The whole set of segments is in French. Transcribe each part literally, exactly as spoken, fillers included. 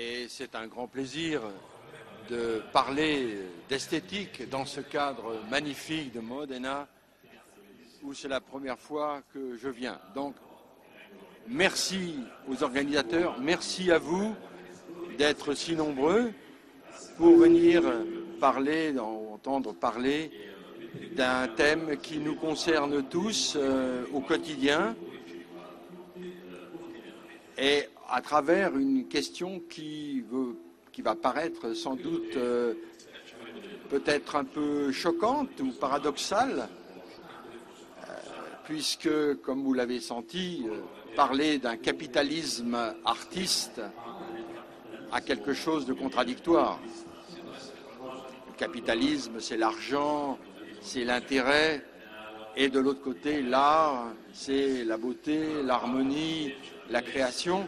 Et c'est un grand plaisir de parler d'esthétique dans ce cadre magnifique de Modena, où c'est la première fois que je viens. Donc, merci aux organisateurs, merci à vous d'être si nombreux pour venir parler, entendre parler d'un thème qui nous concerne tous euh, au quotidien et à travers une question qui, veut, qui va paraître sans doute euh, peut-être un peu choquante ou paradoxale, euh, puisque, comme vous l'avez senti, euh, parler d'un capitalisme artiste a quelque chose de contradictoire. Le capitalisme, c'est l'argent, c'est l'intérêt, et de l'autre côté, l'art, c'est la beauté, l'harmonie, la création.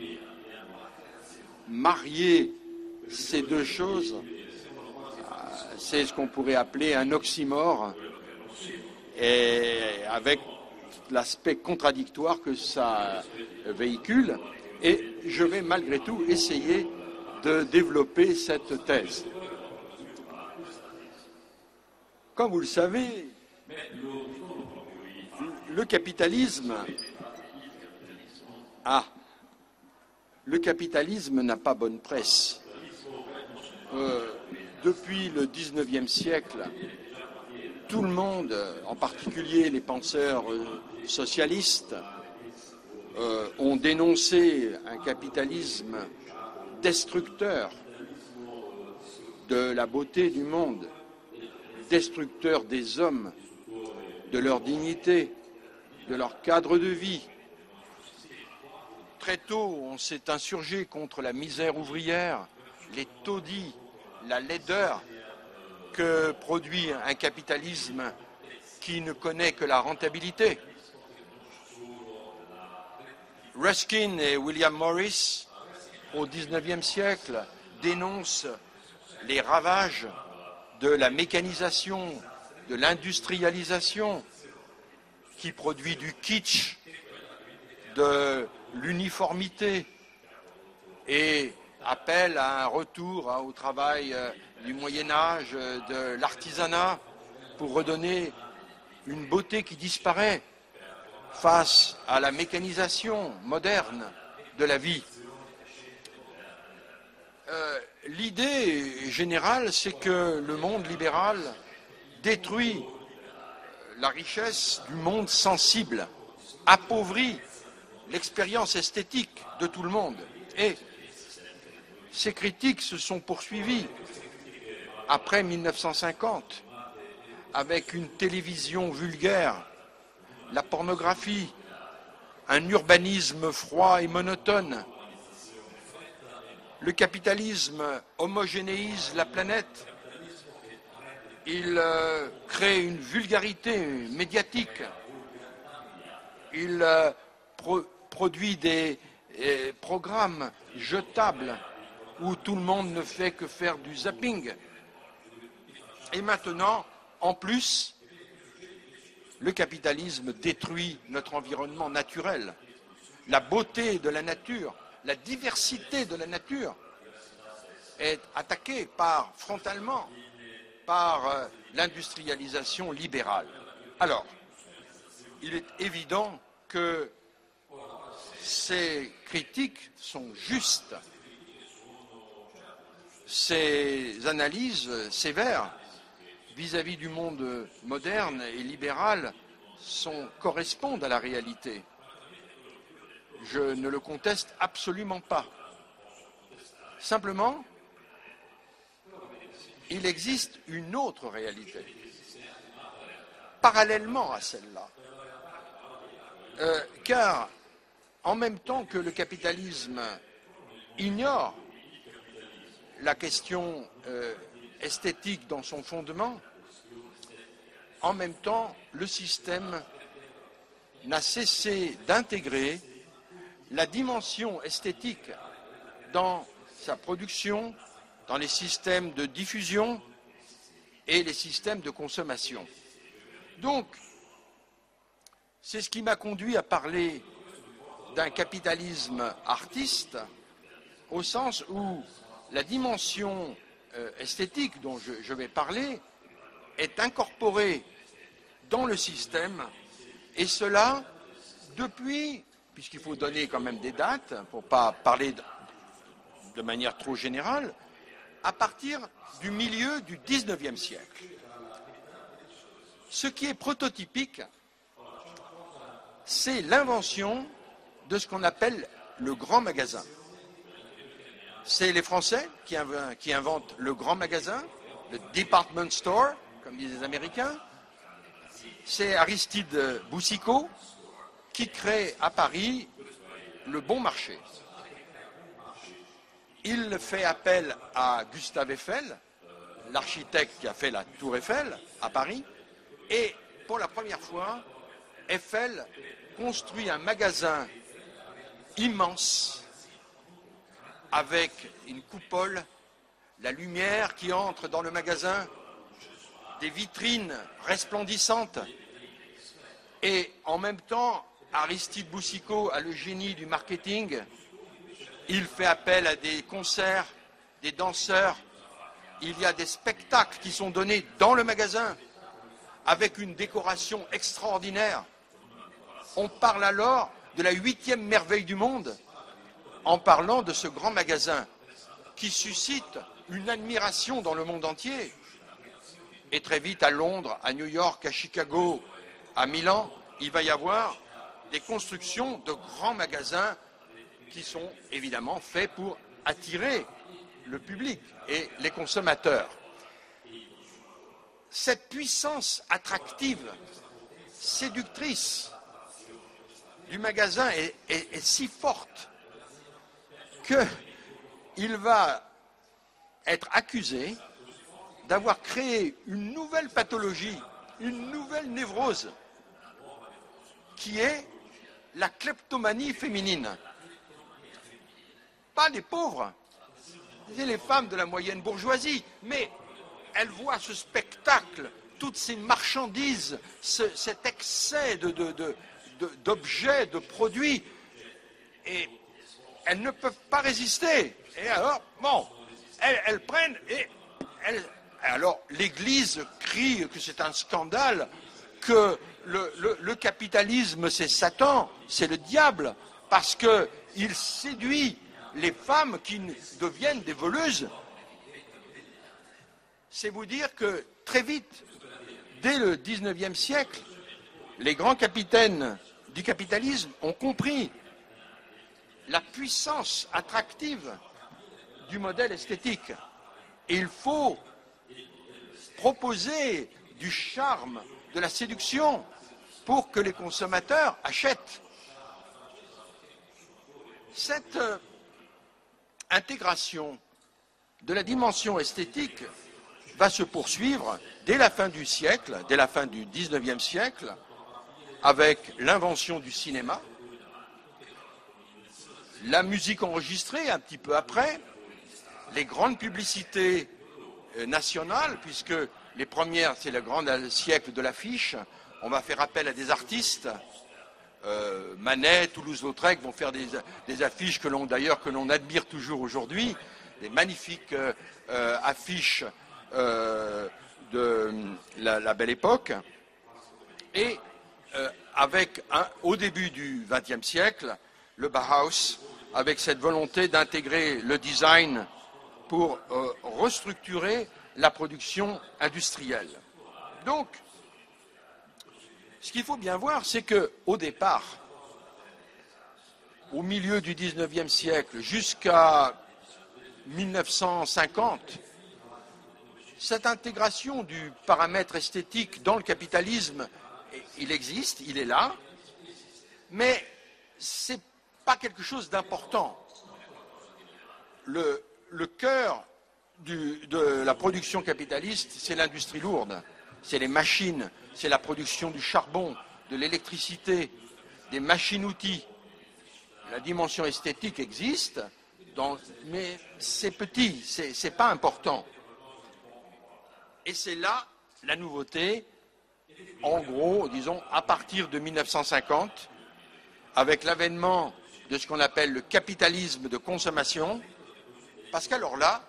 Marier ces deux choses, c'est ce qu'on pourrait appeler un oxymore, et avec l'aspect contradictoire que ça véhicule. Et je vais malgré tout essayer de développer cette thèse. Comme vous le savez, le capitalisme a, le capitalisme n'a pas bonne presse. Euh, depuis le dix-neuvième siècle, tout le monde, en particulier les penseurs socialistes, euh, ont dénoncé un capitalisme destructeur de la beauté du monde, destructeur des hommes, de leur dignité, de leur cadre de vie. Très tôt, on s'est insurgé contre la misère ouvrière, les taudis, la laideur que produit un capitalisme qui ne connaît que la rentabilité. Ruskin et William Morris, au dix-neuvième siècle, dénoncent les ravages de la mécanisation, de l'industrialisation, qui produit du kitsch, de l'uniformité, et appelle à un retour hein, au travail euh, du Moyen-Âge, euh, de l'artisanat, pour redonner une beauté qui disparaît face à la mécanisation moderne de la vie. Euh, L'idée générale, c'est que le monde libéral détruit la richesse du monde sensible, appauvrit l'expérience esthétique de tout le monde. Et ces critiques se sont poursuivies après mille neuf cent cinquante avec une télévision vulgaire, la pornographie, un urbanisme froid et monotone. Le capitalisme homogénéise la planète. Il euh, crée une vulgarité médiatique. Il euh, pro produit des euh, programmes jetables où tout le monde ne fait que faire du zapping. Et maintenant, en plus, le capitalisme détruit notre environnement naturel. La beauté de la nature, la diversité de la nature est attaquée par, frontalement par euh, l'industrialisation libérale. Alors, il est évident que ces critiques sont justes. Ces analyses sévères vis-à-vis du monde moderne et libéral sont, correspondent à la réalité. Je ne le conteste absolument pas. Simplement, il existe une autre réalité, parallèlement à celle-là. Euh, car, en même temps que le capitalisme ignore la question euh, esthétique dans son fondement, en même temps, le système n'a cessé d'intégrer la dimension esthétique dans sa production, dans les systèmes de diffusion et les systèmes de consommation. Donc, c'est ce qui m'a conduit à parler d'un capitalisme artiste au sens où la dimension euh, esthétique dont je, je vais parler est incorporée dans le système, et cela depuis, puisqu'il faut donner quand même des dates, pour ne pas parler de, de manière trop générale, à partir du milieu du dix-neuvième siècle. Ce qui est prototypique, c'est l'invention de ce qu'on appelle le grand magasin. C'est les Français qui, inv- qui inventent le grand magasin, le department store, comme disent les Américains. C'est Aristide Boucicaut qui crée à Paris le bon marché. Il fait appel à Gustave Eiffel, l'architecte qui a fait la Tour Eiffel à Paris, et pour la première fois, Eiffel construit un magasin immense avec une coupole, la lumière qui entre dans le magasin, des vitrines resplendissantes, et en même temps, Aristide Boucicaut a le génie du marketing. Il fait appel à des concerts, des danseurs. Il y a des spectacles qui sont donnés dans le magasin avec une décoration extraordinaire. On parle alors de la huitième merveille du monde en parlant de ce grand magasin qui suscite une admiration dans le monde entier. Et très vite, à Londres, à New York, à Chicago, à Milan, il va y avoir des constructions de grands magasins qui sont évidemment faits pour attirer le public et les consommateurs. Cette puissance attractive, séductrice du magasin est, est, est si forte qu'il va être accusé d'avoir créé une nouvelle pathologie, une nouvelle névrose, qui est la kleptomanie féminine. Pas les pauvres, c'est les femmes de la moyenne bourgeoisie, mais elles voient ce spectacle, toutes ces marchandises, ce, cet excès de, de, de, de, d'objets, de produits, et elles ne peuvent pas résister. Et alors, bon, elles, elles prennent et elles... Alors, l'Église crie que c'est un scandale, que le, le, le capitalisme, c'est Satan, c'est le diable, parce qu'il séduit les femmes qui deviennent des voleuses. C'est vous dire que très vite, dès le dix-neuvième siècle, les grands capitaines du capitalisme ont compris la puissance attractive du modèle esthétique. Et il faut proposer du charme, de la séduction, pour que les consommateurs achètent. Cette euh, intégration de la dimension esthétique va se poursuivre dès la fin du siècle, dès la fin du dix-neuvième siècle, avec l'invention du cinéma, la musique enregistrée un petit peu après, les grandes publicités nationales, puisque les premières, c'est le grand siècle de l'affiche. On va faire appel à des artistes. Euh, Manet, Toulouse-Lautrec vont faire des, des affiches que l'on, d'ailleurs, que l'on admire toujours aujourd'hui, des magnifiques euh, euh, affiches euh, de la, la Belle Époque. Et euh, avec, un, au début du vingtième siècle, le Bauhaus, avec cette volonté d'intégrer le design pour euh, restructurer la production industrielle. Donc, ce qu'il faut bien voir, c'est qu'au départ, au milieu du dix-neuvième siècle, jusqu'à mille neuf cent cinquante, cette intégration du paramètre esthétique dans le capitalisme, il existe, il est là, mais ce n'est pas quelque chose d'important. Le, le cœur du, de la production capitaliste, c'est l'industrie lourde, c'est les machines, c'est la production du charbon, de l'électricité, des machines-outils. La dimension esthétique existe, dans, mais c'est petit, c'est, c'est pas important. Et c'est là la nouveauté, en gros, disons, à partir de mille neuf cent cinquante, avec l'avènement de ce qu'on appelle le capitalisme de consommation, Parce qu'alors là,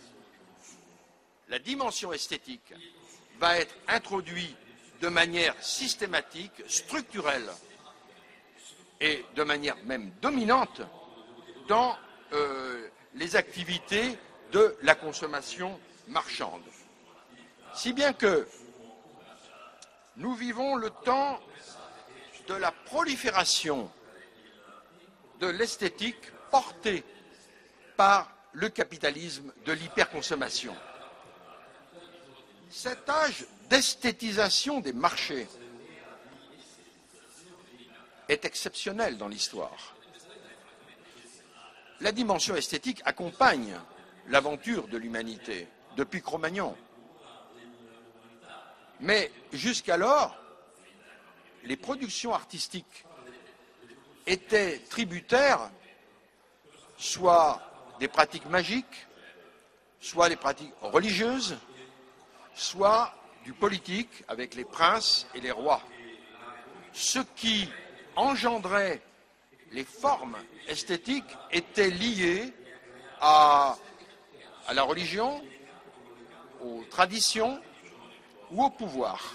la dimension esthétique va être introduite de manière systématique, structurelle et de manière même dominante dans euh, les activités de la consommation marchande. Si bien que nous vivons le temps de la prolifération de l'esthétique portée par le capitalisme de l'hyperconsommation. Cet âge d'esthétisation des marchés est exceptionnel dans l'histoire. La dimension esthétique accompagne l'aventure de l'humanité depuis Cro-Magnon. Mais jusqu'alors, les productions artistiques étaient tributaires soit des pratiques magiques, soit des pratiques religieuses, soit du politique avec les princes et les rois. Ce qui engendrait les formes esthétiques était lié à, à la religion, aux traditions ou au pouvoir.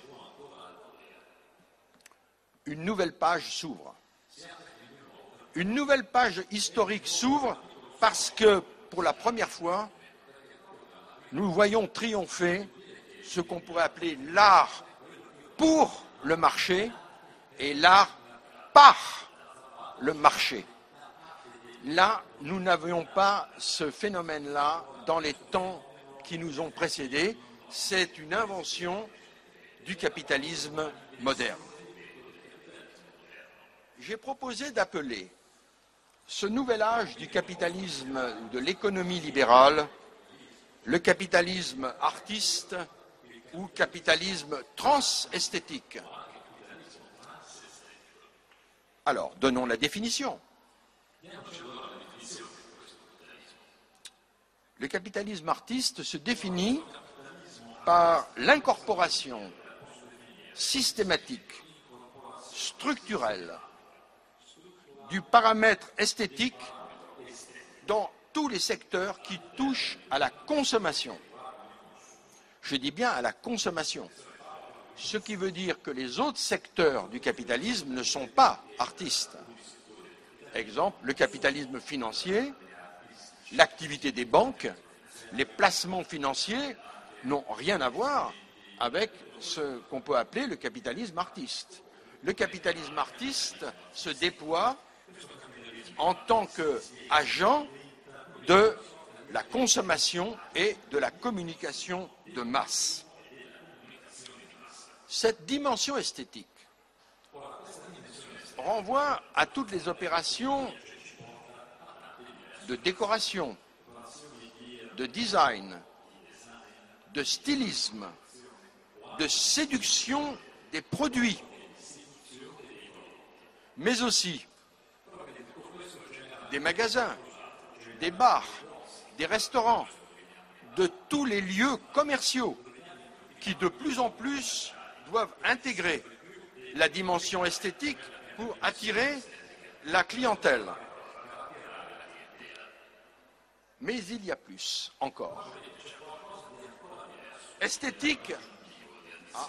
Une nouvelle page s'ouvre. Une nouvelle page historique s'ouvre parce que, pour la première fois, nous voyons triompher ce qu'on pourrait appeler l'art pour le marché et l'art par le marché. Là, nous n'avions pas ce phénomène-là dans les temps qui nous ont précédés. C'est une invention du capitalisme moderne. J'ai proposé d'appeler ce nouvel âge du capitalisme, de l'économie libérale, le capitalisme artiste ou capitalisme transesthétique. Alors, donnons la définition. Le capitalisme artiste se définit par l'incorporation systématique, structurelle, du paramètre esthétique dans tous les secteurs qui touchent à la consommation. Je dis bien à la consommation. Ce qui veut dire que les autres secteurs du capitalisme ne sont pas artistes. Exemple, le capitalisme financier, l'activité des banques, les placements financiers n'ont rien à voir avec ce qu'on peut appeler le capitalisme artiste. Le capitalisme artiste se déploie en tant qu'agent de la consommation et de la communication de masse. Cette dimension esthétique renvoie à toutes les opérations de décoration, de design, de stylisme, de séduction des produits, mais aussi des magasins, des bars, des restaurants, de tous les lieux commerciaux qui de plus en plus doivent intégrer la dimension esthétique pour attirer la clientèle. Mais il y a plus encore. Esthétique, ah,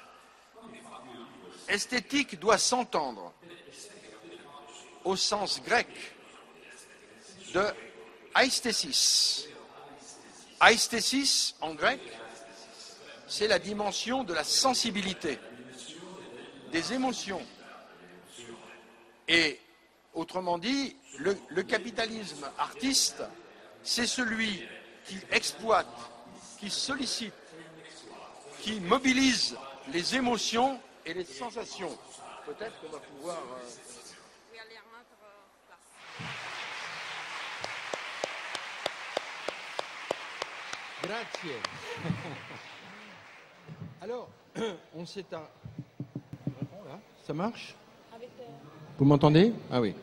esthétique doit s'entendre au sens grec de aesthesis. Aesthesis, en grec, c'est la dimension de la sensibilité, des émotions. Et, autrement dit, le, le capitalisme artiste, c'est celui qui exploite, qui sollicite, qui mobilise les émotions et les sensations. Peut-être qu'on va pouvoir... Euh... Grazie. Alors, on s'est... À... Ça marche? Vous m'entendez? Ah oui.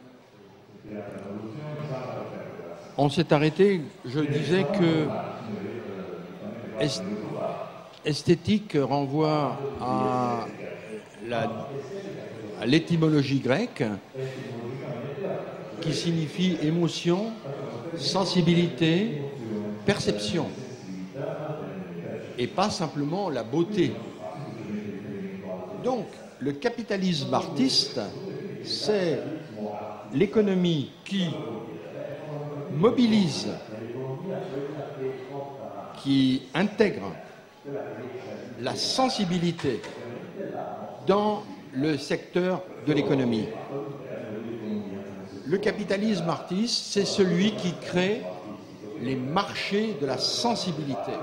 On s'est arrêté, je disais que est... esthétique renvoie à, la... à l'étymologie grecque qui signifie émotion sensibilité, perception, et pas simplement la beauté. Donc, le capitalisme artiste, c'est l'économie qui mobilise, qui intègre la sensibilité dans le secteur de l'économie. Le capitalisme artiste, c'est celui qui crée les marchés de la sensibilité.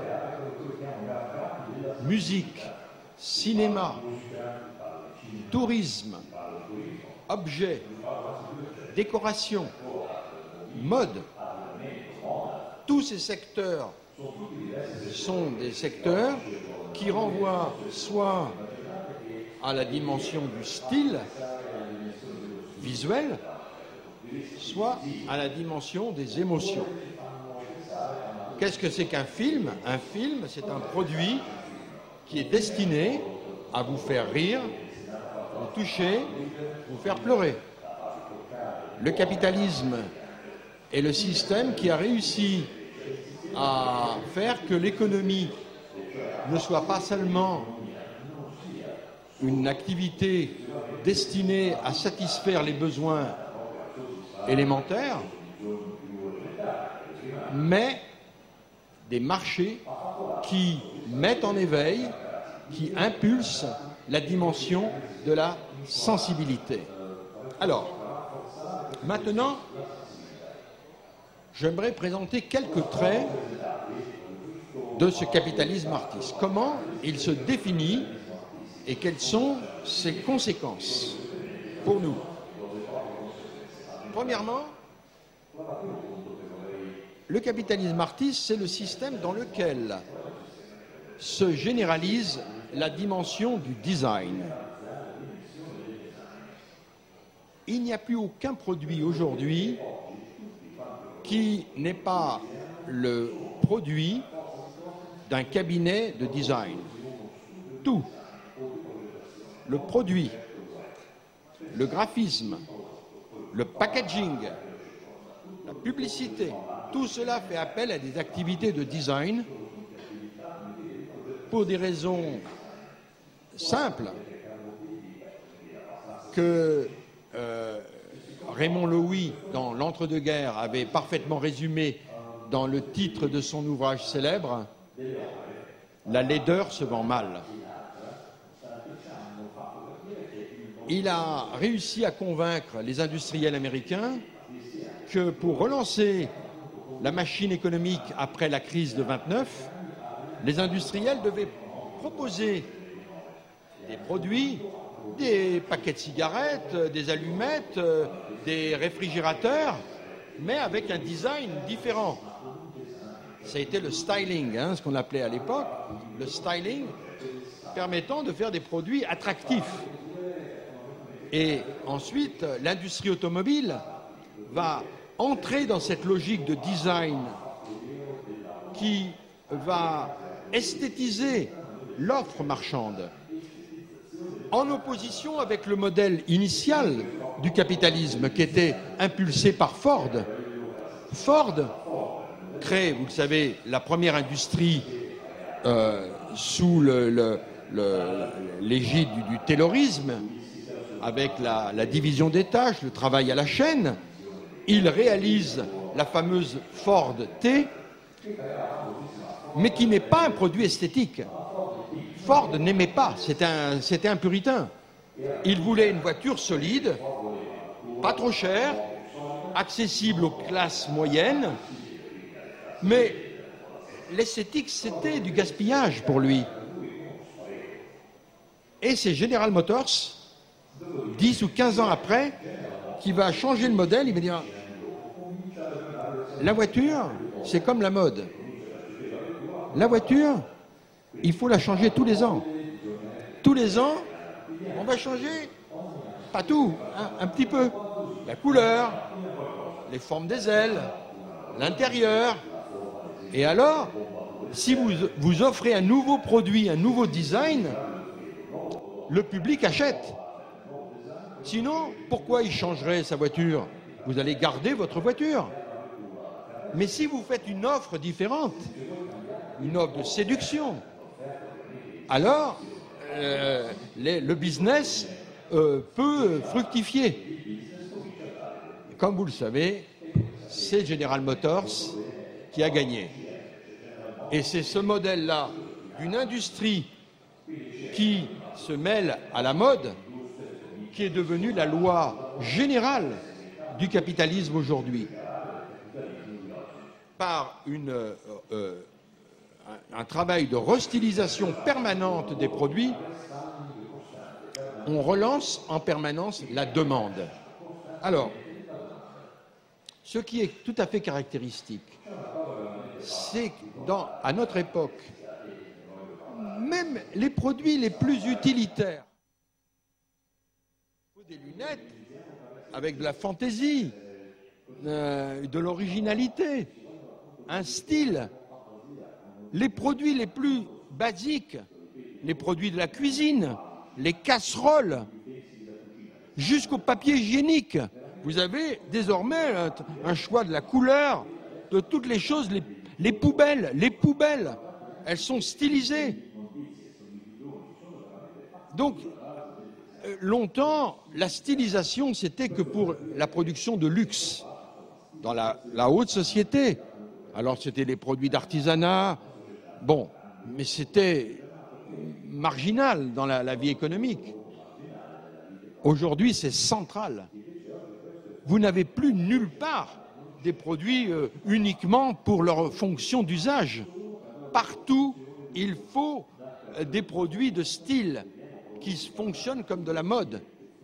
Musique, cinéma, tourisme, objets, décoration, mode, tous ces secteurs sont des secteurs qui renvoient soit à la dimension du style visuel, soit à la dimension des émotions. Qu'est-ce que c'est qu'un film? Un film, c'est un produit qui est destiné à vous faire rire, vous toucher, vous faire pleurer. Le capitalisme est le système qui a réussi à faire que l'économie ne soit pas seulement une activité destinée à satisfaire les besoins élémentaires, mais des marchés qui mettent en éveil, qui impulsent la dimension de la sensibilité. Alors, maintenant, j'aimerais présenter quelques traits de ce capitalisme artiste. Comment il se définit et quelles sont ses conséquences pour nous. Premièrement, le capitalisme artiste, c'est le système dans lequel se généralise la dimension du design. Il n'y a plus aucun produit aujourd'hui qui n'est pas le produit d'un cabinet de design. Tout, le produit, le graphisme, le packaging, la publicité, tout cela fait appel à des activités de design pour des raisons simples que euh, Raymond Loewy, dans l'Entre-deux-guerres, avait parfaitement résumé dans le titre de son ouvrage célèbre, « La laideur se vend mal ». Il a réussi à convaincre les industriels américains que pour relancer la machine économique après la crise de vingt-neuf, les industriels devaient proposer des produits, des paquets de cigarettes, des allumettes, des réfrigérateurs, mais avec un design différent. Ça a été le styling, hein, ce qu'on appelait à l'époque, le styling permettant de faire des produits attractifs. Et ensuite, l'industrie automobile va entrer dans cette logique de design qui va esthétiser l'offre marchande, en opposition avec le modèle initial du capitalisme qui était impulsé par Ford. Ford crée, vous le savez, la première industrie euh, sous le, le, le, l'égide du, du taylorisme, avec la, la division des tâches, le travail à la chaîne. Il réalise la fameuse Ford T, mais qui n'est pas un produit esthétique. Ford n'aimait pas, c'était un, c'était un puritain. Il voulait une voiture solide, pas trop chère, accessible aux classes moyennes, mais l'esthétique, c'était du gaspillage pour lui. Et c'est General Motors, dix ou quinze ans après, qui va changer le modèle. Il va dire, la voiture, c'est comme la mode. La voiture, il faut la changer tous les ans. Tous les ans, on va changer, pas tout, hein, un petit peu. La couleur, les formes des ailes, l'intérieur. Et alors, si vous, vous offrez un nouveau produit, un nouveau design, le public achète. Sinon, pourquoi il changerait sa voiture? Vous allez garder votre voiture. Mais si vous faites une offre différente, une offre de séduction, alors euh, les, le business euh, peut fructifier. Comme vous le savez, c'est General Motors qui a gagné. Et c'est ce modèle-là d'une industrie qui se mêle à la mode qui est devenue la loi générale du capitalisme aujourd'hui. Par une, euh, euh, un, un travail de restylisation permanente des produits, on relance en permanence la demande. Alors, ce qui est tout à fait caractéristique, c'est qu'à notre époque, même les produits les plus utilitaires, des lunettes avec de la fantaisie, euh, de l'originalité, un style, les produits les plus basiques, les produits de la cuisine, les casseroles, jusqu'au papier hygiénique. Vous avez désormais un, un choix de la couleur, de toutes les choses, les, les poubelles, les poubelles, elles sont stylisées. Donc, euh, longtemps, la stylisation, c'était que pour la production de luxe, dans la, la haute société. Alors, c'était les produits d'artisanat, bon, mais c'était marginal dans la, la vie économique. Aujourd'hui, c'est central. Vous n'avez plus nulle part des produits euh, uniquement pour leur fonction d'usage. Partout, il faut euh, des produits de style qui fonctionnent comme de la mode.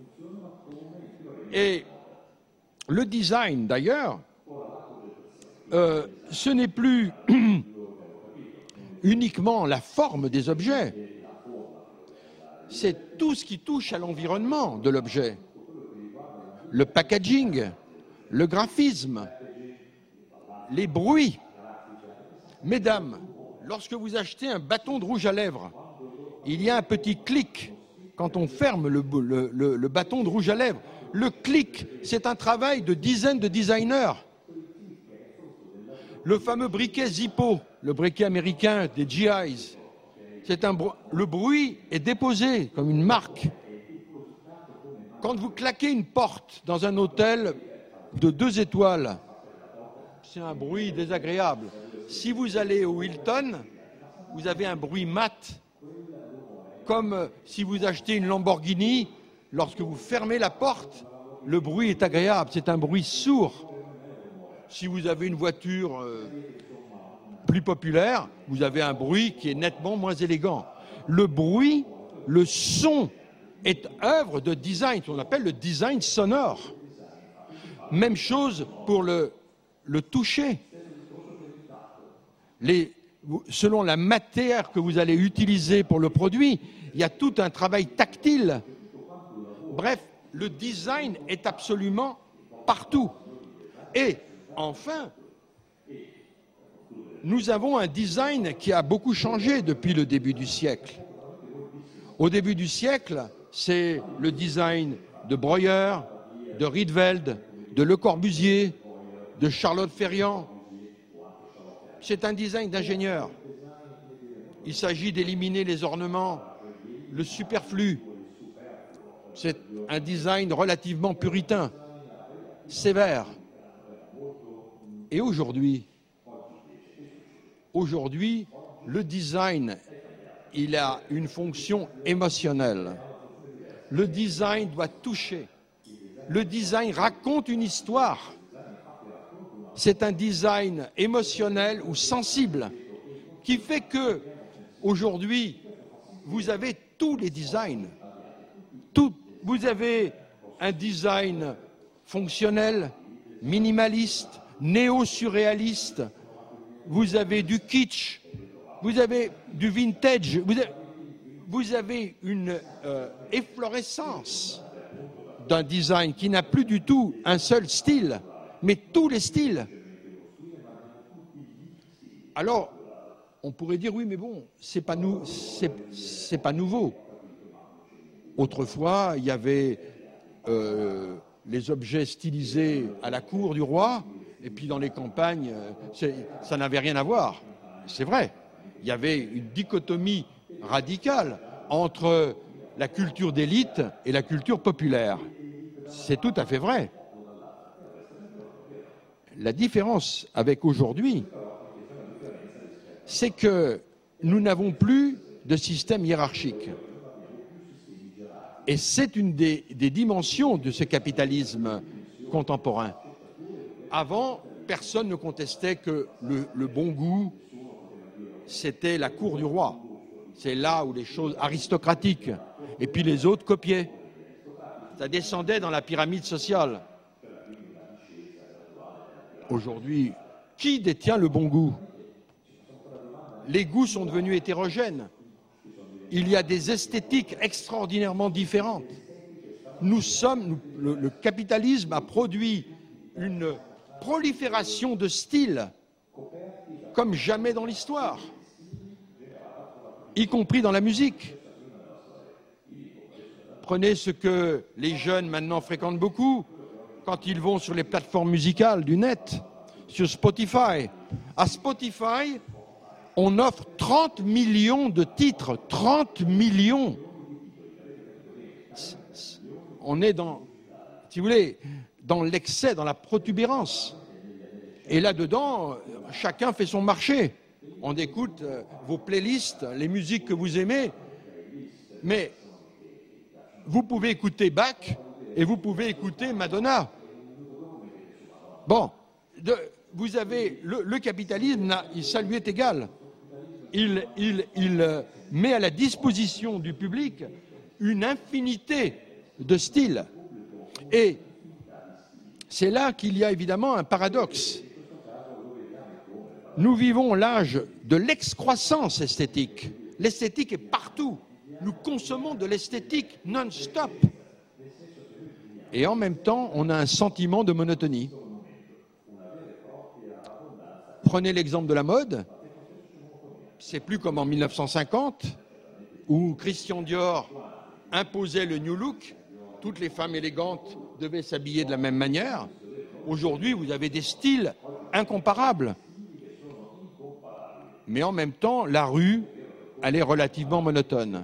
Et le design, d'ailleurs, euh, ce n'est plus uniquement la forme des objets, c'est tout ce qui touche à l'environnement de l'objet. Le packaging, le graphisme, les bruits. Mesdames, lorsque vous achetez un bâton de rouge à lèvres, il y a un petit clic quand on ferme le, le, le, le bâton de rouge à lèvres. Le clic, c'est un travail de dizaines de designers. Le fameux briquet Zippo, le briquet américain des G Is, c'est un, le bruit est déposé comme une marque. Quand vous claquez une porte dans un hôtel de deux étoiles, c'est un bruit désagréable. Si vous allez au Hilton, vous avez un bruit mat, comme si vous achetez une Lamborghini, lorsque vous fermez la porte, le bruit est agréable, c'est un bruit sourd. Si vous avez une voiture euh, plus populaire, vous avez un bruit qui est nettement moins élégant. Le bruit, le son est œuvre de design, ce qu'on appelle le design sonore. Même chose pour le, le toucher. Les, selon la matière que vous allez utiliser pour le produit, il y a tout un travail tactile. Bref, le design est absolument partout. Et enfin, nous avons un design qui a beaucoup changé depuis le début du siècle. Au début du siècle, c'est le design de Breuer, de Rietveld, de Le Corbusier, de Charlotte Ferriand. C'est un design d'ingénieur. Il s'agit d'éliminer les ornements, le superflu. C'est un design relativement puritain, sévère. Et aujourd'hui, aujourd'hui, le design, il a une fonction émotionnelle. Le design doit toucher. Le design raconte une histoire. C'est un design émotionnel ou sensible qui fait que, aujourd'hui, vous avez tous les designs. Tout, vous avez un design fonctionnel, minimaliste, néo-surréaliste, vous avez du kitsch, vous avez du vintage, vous avez, vous avez une euh, efflorescence d'un design qui n'a plus du tout un seul style, mais tous les styles. Alors, on pourrait dire, oui, mais bon, c'est pas, nou c'est, c'est pas nouveau. Autrefois, il y avait euh, les objets stylisés à la cour du roi, Et puis dans les campagnes, ça n'avait rien à voir. C'est vrai. Il y avait une dichotomie radicale entre la culture d'élite et la culture populaire. C'est tout à fait vrai. La différence avec aujourd'hui, c'est que nous n'avons plus de système hiérarchique. Et c'est une des, des dimensions de ce capitalisme contemporain. Avant, personne ne contestait que le, le bon goût, c'était la cour du roi. C'est là où les choses aristocratiques, et puis les autres copiaient. Ça descendait dans la pyramide sociale. Aujourd'hui, qui détient le bon goût? Les goûts sont devenus hétérogènes. Il y a des esthétiques extraordinairement différentes. Nous sommes, nous, le, le capitalisme a produit une prolifération de styles comme jamais dans l'histoire, y compris dans la musique. Prenez ce que les jeunes maintenant fréquentent beaucoup quand ils vont sur les plateformes musicales du net, sur Spotify. À Spotify, on offre trente millions de titres, trente millions. On est dans, si vous voulez, dans l'excès, dans la protubérance. Et là-dedans, chacun fait son marché. On écoute vos playlists, les musiques que vous aimez, mais vous pouvez écouter Bach et vous pouvez écouter Madonna. Bon, de, vous avez le, le capitalisme, ça lui est égal. Il, il, il met à la disposition du public une infinité de styles. Et c'est là qu'il y a évidemment un paradoxe. Nous vivons l'âge de l'excroissance esthétique. L'esthétique est partout. Nous consommons de l'esthétique non-stop. Et en même temps, on a un sentiment de monotonie. Prenez l'exemple de la mode. C'est plus comme en mille neuf cent cinquante, où Christian Dior imposait le New Look. Toutes les femmes élégantes devaient s'habiller de la même manière. Aujourd'hui, vous avez des styles incomparables. Mais en même temps, la rue, elle est relativement monotone.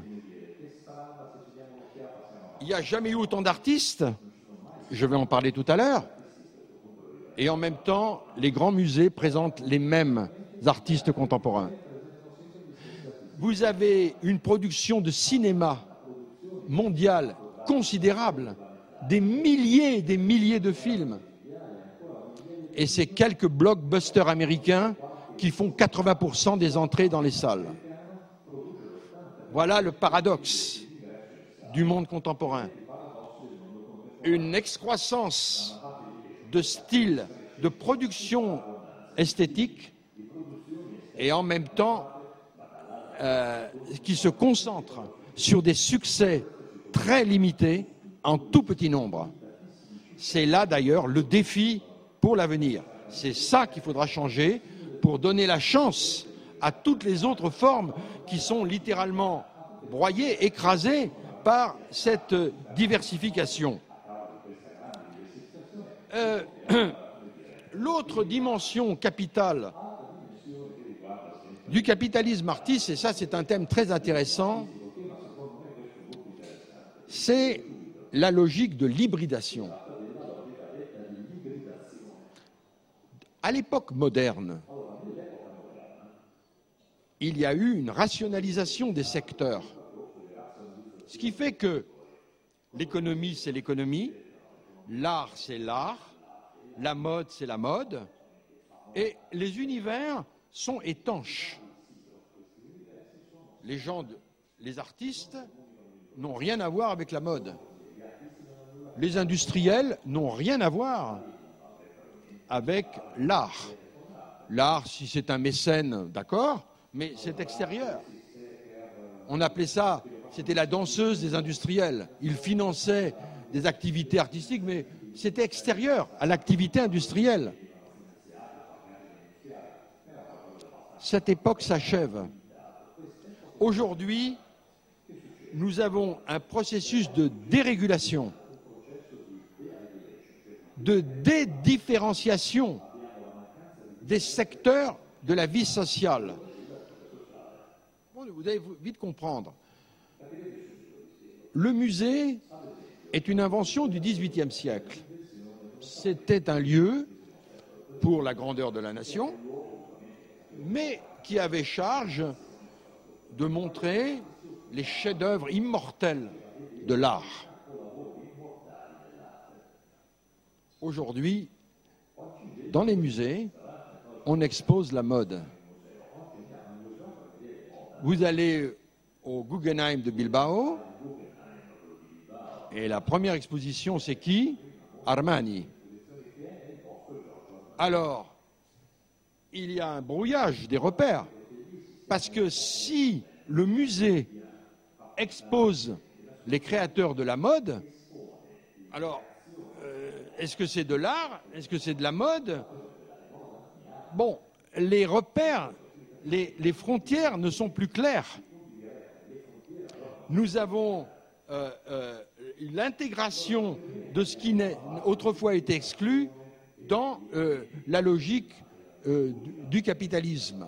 Il n'y a jamais eu autant d'artistes, je vais en parler tout à l'heure, et en même temps, les grands musées présentent les mêmes artistes contemporains. Vous avez une production de cinéma mondiale considérable, des milliers et des milliers de films, et c'est quelques blockbusters américains qui font quatre-vingts pour cent des entrées dans les salles. Voilà le paradoxe du monde contemporain. Une excroissance de style, de production esthétique, et en même temps euh, qui se concentre sur des succès très limités en tout petit nombre. C'est là d'ailleurs le défi pour l'avenir. C'est ça qu'il faudra changer pour donner la chance à toutes les autres formes qui sont littéralement broyées, écrasées par cette diversification. Euh, L'autre dimension capitale du capitalisme artiste, et ça c'est un thème très intéressant, c'est la logique de l'hybridation. À l'époque moderne, il y a eu une rationalisation des secteurs. Ce qui fait que l'économie, c'est l'économie, l'art, c'est l'art, la mode, c'est la mode, et les univers sont étanches. Les gens, de, les artistes n'ont rien à voir avec la mode. Les industriels n'ont rien à voir avec l'art. L'art, si c'est un mécène, d'accord, mais c'est extérieur. On appelait ça, c'était la danseuse des industriels. Ils finançaient des activités artistiques, mais c'était extérieur à l'activité industrielle. Cette époque s'achève. Aujourd'hui, nous avons un processus de dérégulation, de dédifférenciation des secteurs de la vie sociale. Bon, vous allez vite comprendre. Le musée est une invention du dix-huitième siècle. C'était un lieu pour la grandeur de la nation, mais qui avait charge de montrer les chefs-d'œuvre immortels de l'art. Aujourd'hui, dans les musées, on expose la mode. Vous allez au Guggenheim de Bilbao, et la première exposition, c'est qui? Armani. Alors, il y a un brouillage des repères, parce que si le musée expose les créateurs de la mode, alors, euh, est-ce que c'est de l'art? Est-ce que c'est de la mode? Bon, les repères, les, les frontières ne sont plus claires. Nous avons euh, euh, l'intégration de ce qui n'a autrefois été exclu dans euh, la logique euh, du, du capitalisme.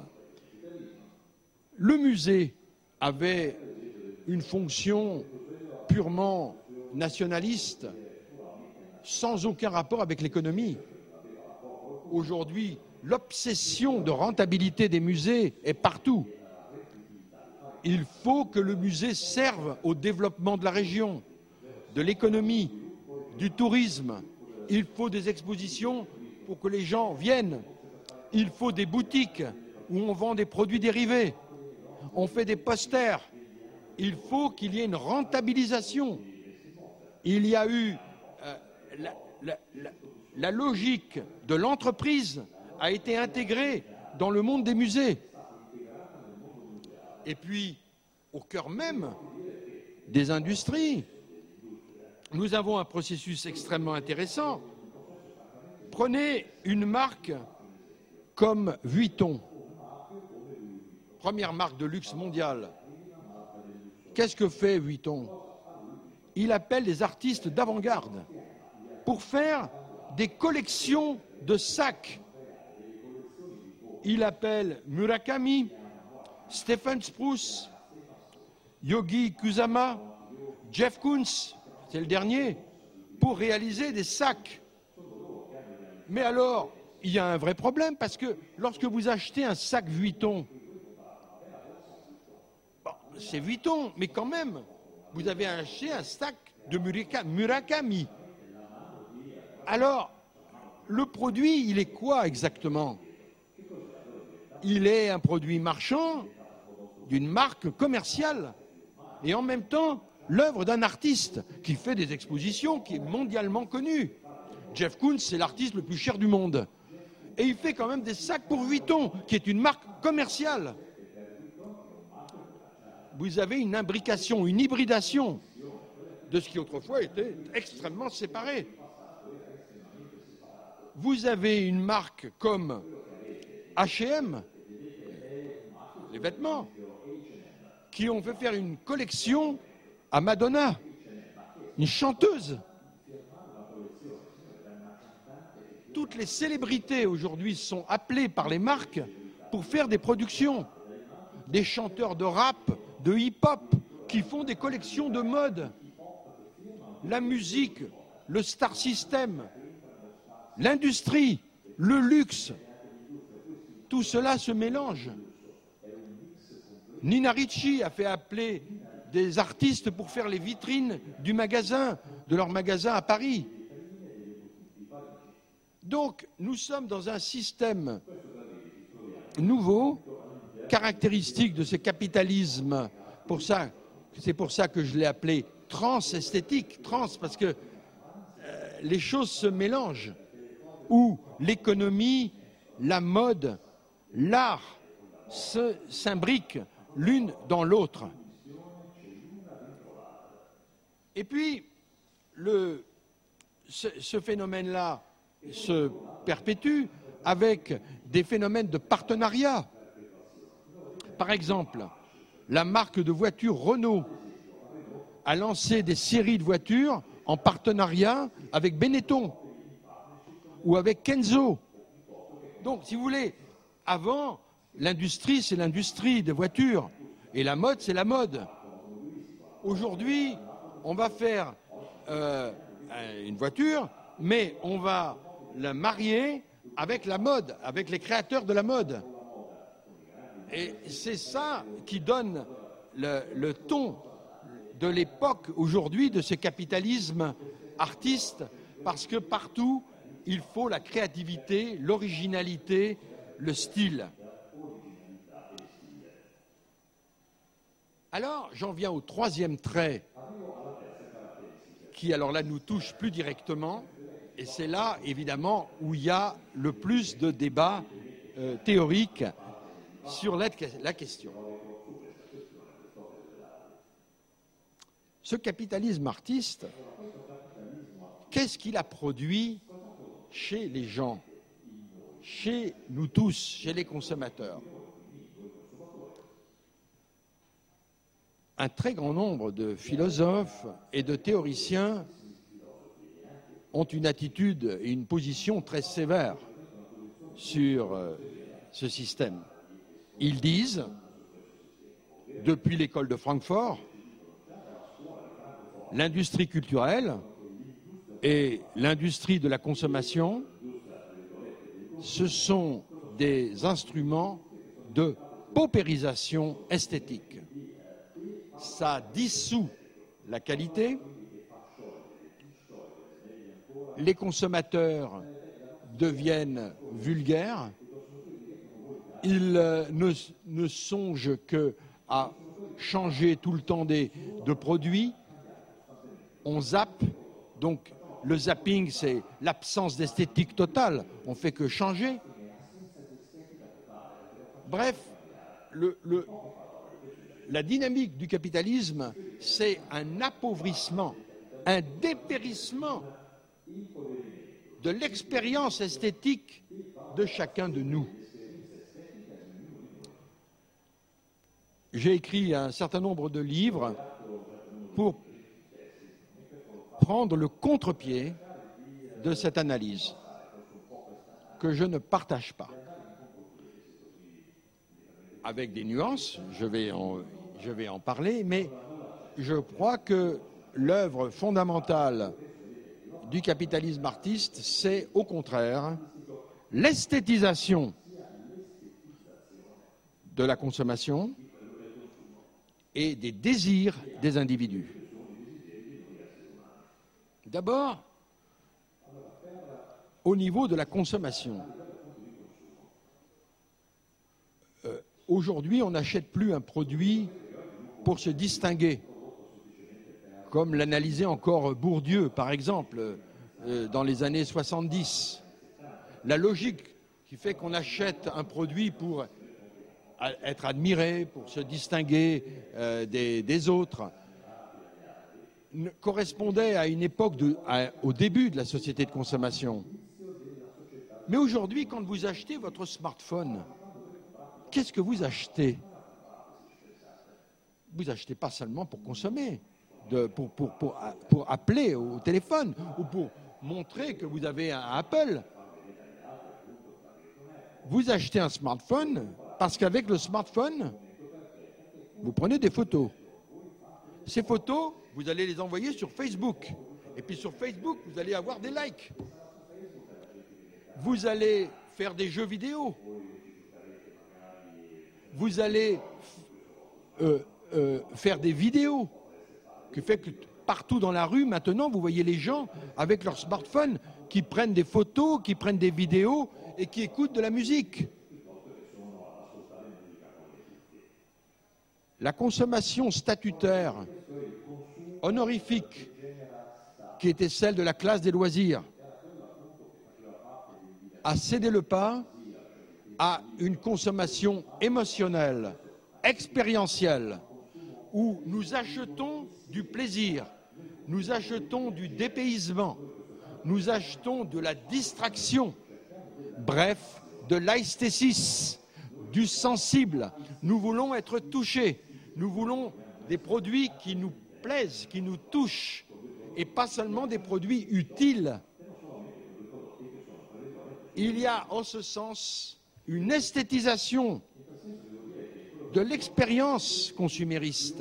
Le musée avait une fonction purement nationaliste, sans aucun rapport avec l'économie. Aujourd'hui, l'obsession de rentabilité des musées est partout. Il faut que le musée serve au développement de la région, de l'économie, du tourisme. Il faut des expositions pour que les gens viennent. Il faut des boutiques où on vend des produits dérivés. On fait des posters. Il faut qu'il y ait une rentabilisation. Il y a eu euh, la, la, la, la logique de l'entreprise a été intégrée dans le monde des musées. Et puis, au cœur même des industries, nous avons un processus extrêmement intéressant. Prenez une marque comme Vuitton, première marque de luxe mondiale. Qu'est-ce que fait Vuitton? Il appelle des artistes d'avant-garde pour faire des collections de sacs. Il appelle Murakami, Stephen Spruce, Yogi Kusama, Jeff Koons, c'est le dernier, pour réaliser des sacs. Mais alors, il y a un vrai problème, parce que lorsque vous achetez un sac Vuitton, bon, c'est Vuitton, mais quand même, vous avez acheté un sac de Murakami. Alors, le produit, il est quoi exactement? Il est un produit marchand d'une marque commerciale et en même temps l'œuvre d'un artiste qui fait des expositions, qui est mondialement connu. Jeff Koons, c'est l'artiste le plus cher du monde. Et il fait quand même des sacs pour Vuitton, qui est une marque commerciale. Vous avez une imbrication, une hybridation de ce qui autrefois était extrêmement séparé. Vous avez une marque comme H et M, les vêtements, qui ont fait faire une collection à Madonna, une chanteuse. Toutes les célébrités aujourd'hui sont appelées par les marques pour faire des productions. Des chanteurs de rap, de hip-hop, qui font des collections de mode. La musique, le star system, l'industrie, le luxe, tout cela se mélange. Nina Ricci a fait appeler des artistes pour faire les vitrines du magasin, de leur magasin à Paris. Donc, nous sommes dans un système nouveau, caractéristique de ce capitalisme. Pour ça, c'est pour ça que je l'ai appelé trans-esthétique, trans, parce que euh, les choses se mélangent, où l'économie, la mode, l'art s'imbriquent l'une dans l'autre. Et puis, le, ce, ce phénomène-là se perpétue avec des phénomènes de partenariat. Par exemple, la marque de voitures Renault a lancé des séries de voitures en partenariat avec Benetton ou avec Kenzo. Donc, si vous voulez, avant, l'industrie, c'est l'industrie des voitures. Et la mode, c'est la mode. Aujourd'hui, on va faire euh, une voiture, mais on va la marier avec la mode, avec les créateurs de la mode. Et c'est ça qui donne le, le ton de l'époque aujourd'hui, de ce capitalisme artiste, parce que partout, il faut la créativité, l'originalité, le style. Alors, j'en viens au troisième trait, qui, alors là, nous touche plus directement, et c'est là, évidemment, où il y a le plus de débats euh, théoriques sur la, la question. Ce capitalisme artiste, qu'est-ce qu'il a produit chez les gens, chez nous tous, chez les consommateurs? Un très grand nombre de philosophes et de théoriciens ont une attitude et une position très sévère sur ce système. Ils disent, depuis l'école de Francfort, l'industrie culturelle et l'industrie de la consommation, ce sont des instruments de paupérisation esthétique. Ça dissout la qualité, les consommateurs deviennent vulgaires, ils ne, ne songent qu'à changer tout le temps des, de produits, on zappe, donc le zapping c'est l'absence d'esthétique totale, on fait que changer. Bref, le, le, la dynamique du capitalisme, c'est un appauvrissement, un dépérissement de l'expérience esthétique de chacun de nous. J'ai écrit un certain nombre de livres pour prendre le contre-pied de cette analyse que je ne partage pas. Avec des nuances, je vais en, je vais en parler, mais je crois que l'œuvre fondamentale du capitalisme artiste, c'est au contraire l'esthétisation de la consommation et des désirs des individus. D'abord, au niveau de la consommation. Euh, aujourd'hui, on n'achète plus un produit pour se distinguer, comme l'analysait encore Bourdieu, par exemple, euh, dans les années soixante-dix. La logique qui fait qu'on achète un produit pour être admiré, pour se distinguer euh, des, des autres, correspondait à une époque, de, à, au début de la société de consommation. Mais aujourd'hui, quand vous achetez votre smartphone, qu'est-ce que vous achetez? Vous achetez pas seulement pour consommer, de, pour, pour, pour, pour appeler au téléphone ou pour montrer que vous avez un Apple. Vous achetez un smartphone parce qu'avec le smartphone, vous prenez des photos. Ces photos, vous allez les envoyer sur Facebook. Et puis sur Facebook, vous allez avoir des likes. Vous allez faire des jeux vidéo. Vous allez euh, euh, faire des vidéos. Qui fait que partout dans la rue, maintenant, vous voyez les gens avec leur smartphone qui prennent des photos, qui prennent des vidéos et qui écoutent de la musique. La consommation statutaire, honorifique, qui était celle de la classe des loisirs, a cédé le pas à une consommation émotionnelle, expérientielle, où nous achetons du plaisir, nous achetons du dépaysement, nous achetons de la distraction, bref, de l'esthétisme, du sensible. Nous voulons être touchés, nous voulons des produits qui nous plaisent, qui nous touchent, et pas seulement des produits utiles. il y a en ce sens une esthétisation de l'expérience consumériste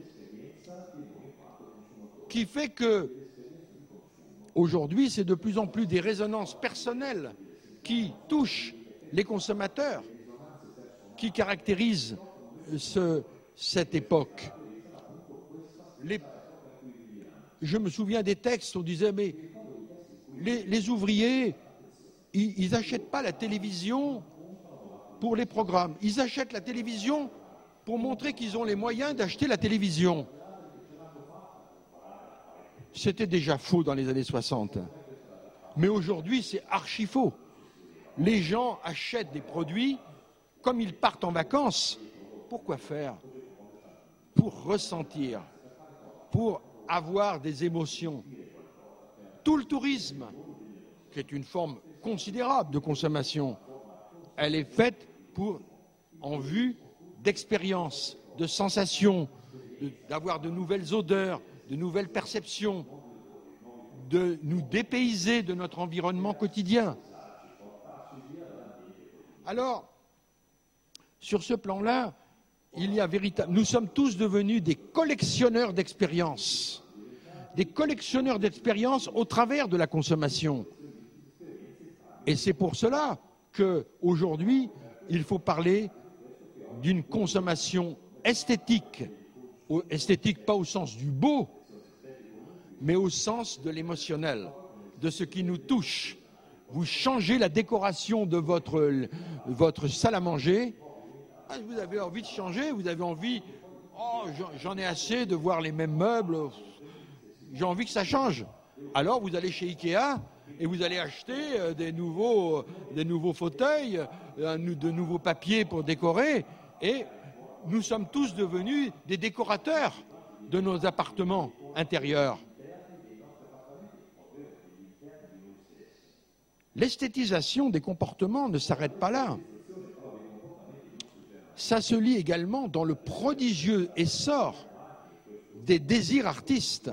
qui fait que aujourd'hui c'est de plus en plus des résonances personnelles qui touchent les consommateurs qui caractérisent ce, cette époque. Les, je me souviens des textes où on disait mais les, les ouvriers ils n'achètent pas la télévision pour les programmes, ils achètent la télévision pour montrer qu'ils ont les moyens d'acheter la télévision. C'était déjà faux dans les années soixante. Mais aujourd'hui, c'est archi faux. Les gens achètent des produits comme ils partent en vacances. Pourquoi faire? Pour ressentir, pour avoir des émotions. Tout le tourisme, qui est une forme considérable de consommation, elle est faite pour, en vue d'expériences, de sensations, d'avoir de nouvelles odeurs, de nouvelles perceptions, de nous dépayser de notre environnement quotidien. Alors, sur ce plan-là, il y a véritable... nous sommes tous devenus des collectionneurs d'expériences, des collectionneurs d'expériences au travers de la consommation. Et c'est pour cela qu'aujourd'hui, il faut parler d'une consommation esthétique, esthétique pas au sens du beau, mais au sens de l'émotionnel, de ce qui nous touche. Vous changez la décoration de votre, votre salle à manger, vous avez envie de changer, vous avez envie, oh, j'en ai assez de voir les mêmes meubles, j'ai envie que ça change. Alors vous allez chez Ikea et vous allez acheter des nouveaux, des nouveaux fauteuils, de nouveaux papiers pour décorer, et nous sommes tous devenus des décorateurs de nos appartements intérieurs. L'esthétisation des comportements ne s'arrête pas là. Ça se lit également dans le prodigieux essor des désirs artistes.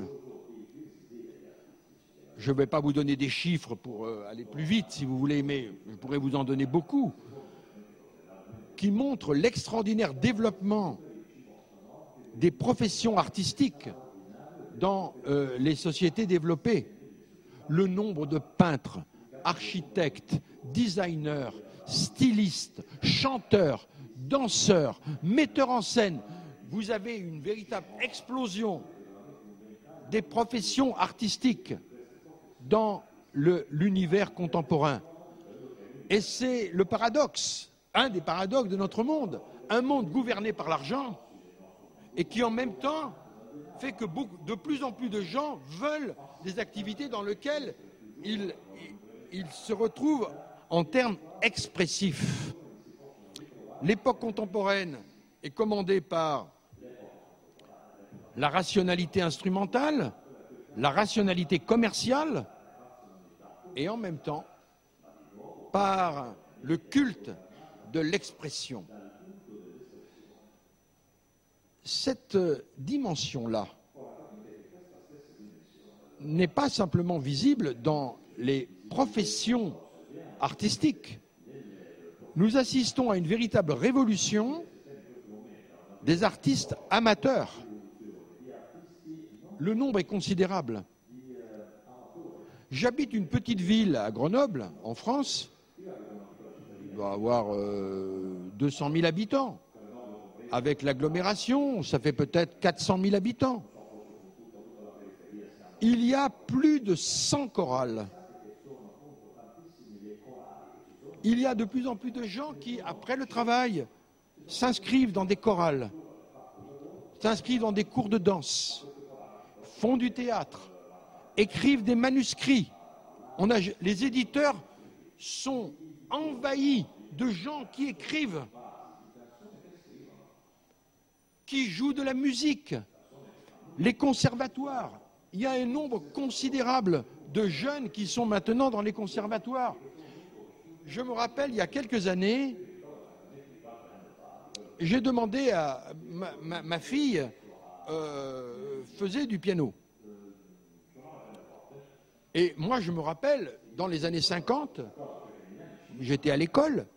Je ne vais pas vous donner des chiffres pour aller plus vite, si vous voulez, mais je pourrais vous en donner beaucoup, qui montrent l'extraordinaire développement des professions artistiques dans euh, les sociétés développées. Le nombre de peintres, architectes, designers, stylistes, chanteurs, danseurs, metteurs en scène. Vous avez une véritable explosion des professions artistiques dans l'univers contemporain. Et c'est le paradoxe, un des paradoxes de notre monde, un monde gouverné par l'argent et qui en même temps fait que beaucoup, de plus en plus de gens veulent des activités dans lesquelles ils, ils se retrouvent en termes expressifs. L'époque contemporaine est commandée par la rationalité instrumentale, la rationalité commerciale et en même temps par le culte de l'expression. Cette dimension-là n'est pas simplement visible dans les professions artistiques. Nous assistons à une véritable révolution des artistes amateurs. Le nombre est considérable. J'habite une petite ville à Grenoble, en France. Il doit avoir euh, deux cent mille habitants. Avec l'agglomération, ça fait peut-être quatre cent mille habitants. Il y a plus de cent chorales. Il y a de plus en plus de gens qui, après le travail, s'inscrivent dans des chorales, s'inscrivent dans des cours de danse, font du théâtre, écrivent des manuscrits. On a, les éditeurs sont envahis de gens qui écrivent, qui jouent de la musique. Les conservatoires, il y a un nombre considérable de jeunes qui sont maintenant dans les conservatoires. Je me rappelle, il y a quelques années, j'ai demandé à ma, ma, ma fille euh, faisait du piano. Et moi, je me rappelle, dans les années cinquante, j'étais à l'école,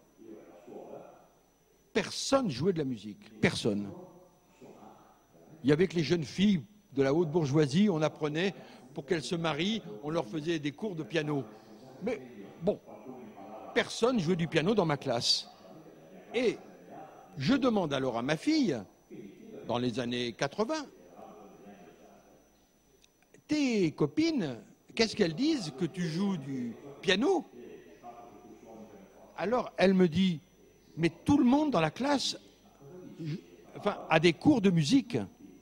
personne jouait de la musique. Personne. Il y avait que les jeunes filles de la haute bourgeoisie, on apprenait, pour qu'elles se marient, on leur faisait des cours de piano. Mais bon, personne jouait du piano dans ma classe. Et je demande alors à ma fille, dans les années quatre-vingts, tes copines, qu'est-ce qu'elles disent que tu joues du piano? Alors elle me dit, mais tout le monde dans la classe enfin, a des cours de musique.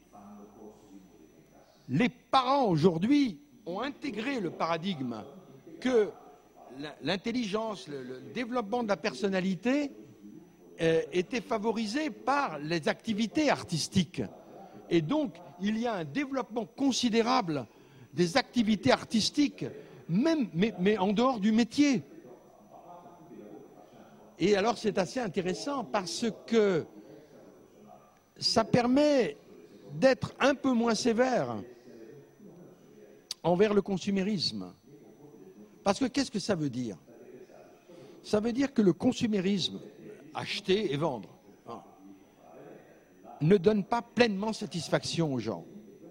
Les parents aujourd'hui ont intégré le paradigme que l'intelligence, le, le développement de la personnalité euh, était favorisé par les activités artistiques. Et donc, il y a un développement considérable des activités artistiques, même, mais, mais en dehors du métier. Et alors, c'est assez intéressant parce que ça permet d'être un peu moins sévère envers le consumérisme. Parce que qu'est-ce que ça veut dire? Ça veut dire que le consumérisme, acheter et vendre, hein, ne donne pas pleinement satisfaction aux gens.